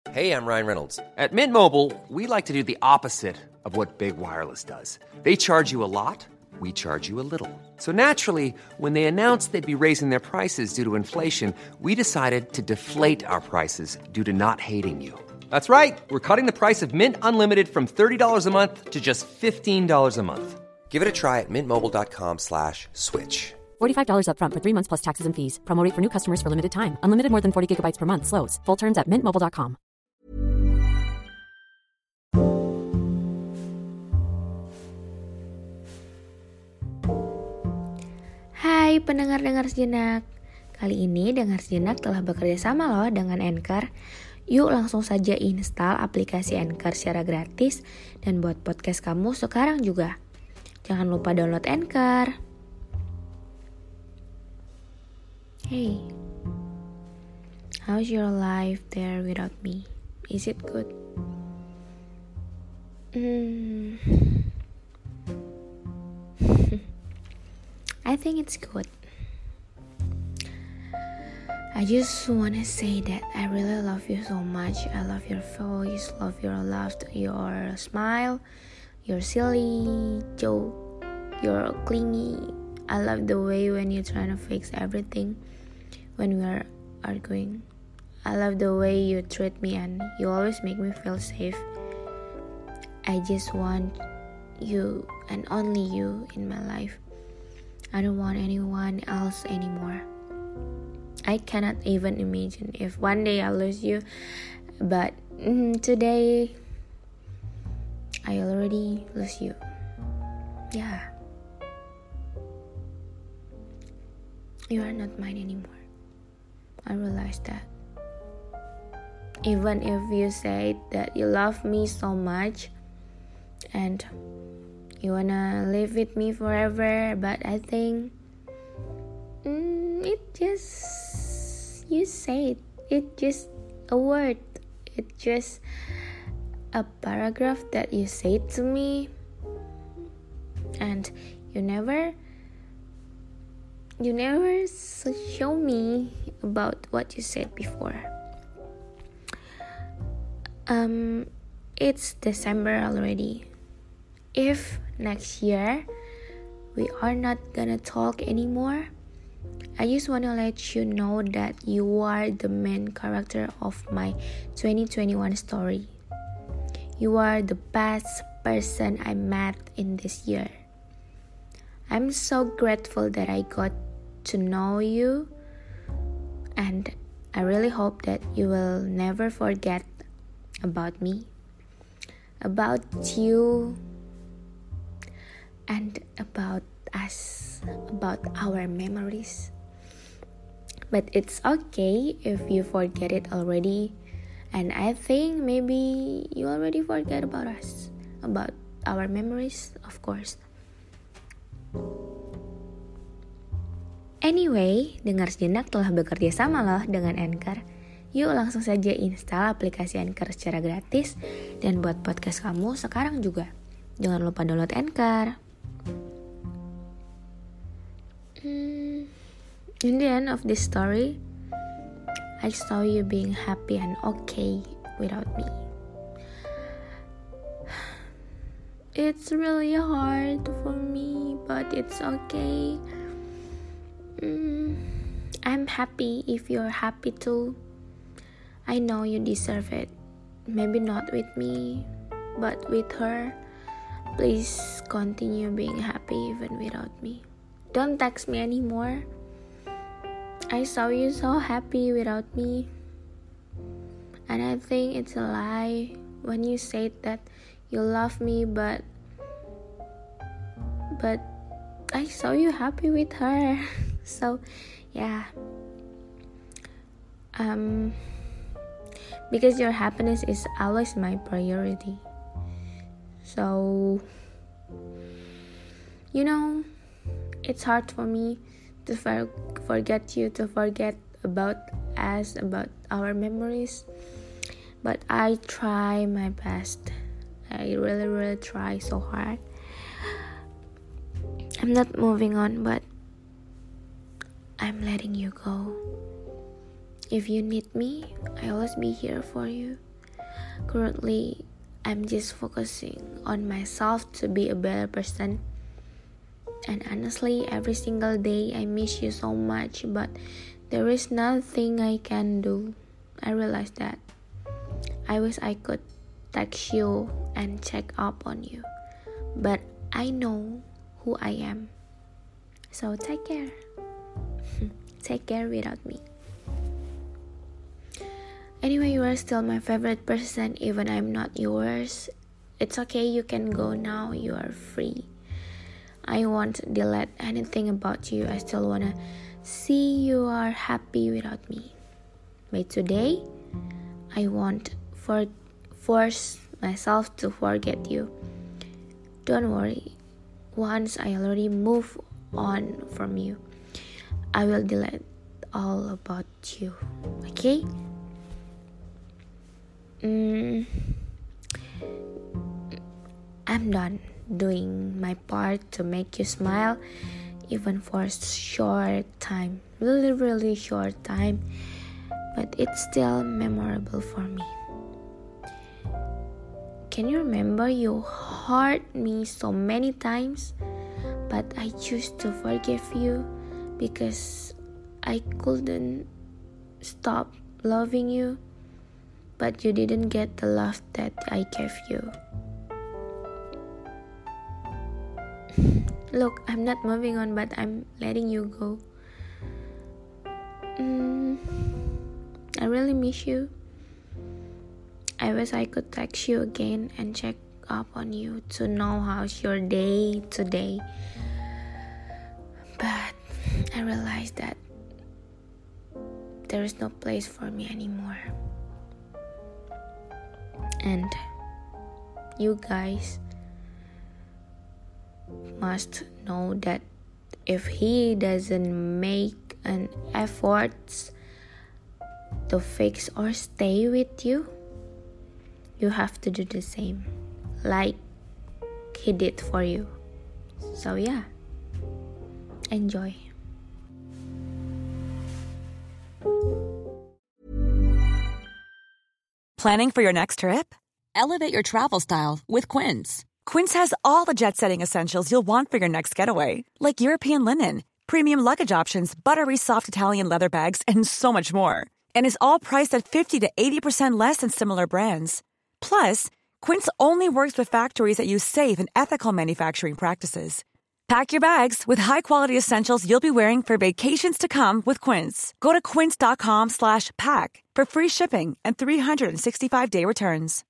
Hey, I'm Ryan Reynolds. At Mint Mobile, we like to do the opposite of what Big Wireless does. They charge you a lot, we charge you a little. So naturally, when they announced they'd be raising their prices due to inflation, we decided to deflate our prices due to not hating you. That's right. We're cutting the price of Mint Unlimited from $30 a month to just $15 a month. Give it a try at mintmobile.com/switch. $45 up front for 3 months plus taxes and fees. Promo rate for new customers for limited time. Unlimited more than 40 gigabytes per month. Slows full terms at mintmobile.com. Hai pendengar-dengar sejenak. Kali ini Dengar Sejenak telah bekerja sama loh dengan Anchor. Yuk langsung saja install aplikasi Anchor secara gratis dan buat podcast kamu sekarang juga. Jangan lupa download Anchor. Hey, how's your life there without me? Is it good? I think it's good. I just wanna say that I really love you so much. I love your voice, love your laugh, your smile, your silly joke, your clingy. I love the way when you're trying to fix everything when we are arguing. I love the way you treat me and you always make me feel safe. I just want you and only you in my life. I don't want anyone else anymore. I cannot even imagine if one day I lose you, but today I already lose you. Yeah. You are not mine anymore. I realize that. Even if you say that you love me so much and you wanna live with me forever, but I think it just, you say it just a word, it just a paragraph that you say to me, and you never show me about what you said before. It's December already. If next year we are not gonna talk anymore, I just wanna let you know that you are the main character of my 2021 story. You are the best person I met in this year. I'm so grateful that I got to know you, and I really hope that you will never forget about me, about you, and about us, about our memories. But it's okay if you forget it already, and I think maybe you already forget about us, about our memories, of course. Anyway, Dengar Sejenak telah bekerja sama loh dengan Anchor. Yuk langsung saja install aplikasi Anchor secara gratis dan buat podcast kamu sekarang juga. Jangan lupa download Anchor. In the end of this story, I saw you being happy and okay without me. It's really hard for me, but it's okay. I'm happy if you're happy too. I know you deserve it. Maybe not with me, but with her. Please continue being happy even without me. Don't text me anymore. I saw you so happy without me. And I think it's a lie when you said that you love me, but I saw you happy with her. So yeah, because your happiness is always my priority. So you know, it's hard for me to forget you, to forget about us, about our memories, but I try my best. I really try so hard. I'm not moving on, but I'm letting you go. If you need me, I'll always be here for you. Currently, I'm just focusing on myself to be a better person. And honestly, every single day I miss you so much, but there is nothing I can do. I realize that. I wish I could text you and check up on you, but I know who I am. So take care. Take care without me. Anyway, you are still my favorite person, even I'm not yours. It's okay, you can go now, you are free. I won't delete anything about you. I still wanna see you are happy without me. But today, I won't force myself to forget you. Don't worry. Once I already move on from you, I will delete all about you. Okay? I'm done doing my part to make you smile, even for a short time, really short time, but it's still memorable for me. Can you remember you hurt me so many times, but I choose to forgive you because I couldn't stop loving you, but you didn't get the love that I gave you. Look, I'm not moving on, but I'm letting you go. I really miss you. I wish I could text you again and check up on you to know how's your day today. But I realized that there is no place for me anymore. And you guys must know that if he doesn't make an effort to fix or stay with you, you have to do the same like he did for you. So yeah, enjoy. Planning for your next trip? Elevate your travel style with Quince. Quince has all the jet-setting essentials you'll want for your next getaway, like European linen, premium luggage options, buttery soft Italian leather bags, and so much more. And is all priced at 50 to 80% less than similar brands. Plus, Quince only works with factories that use safe and ethical manufacturing practices. Pack your bags with high-quality essentials you'll be wearing for vacations to come with Quince. Go to quince.com/pack for free shipping and 365-day returns.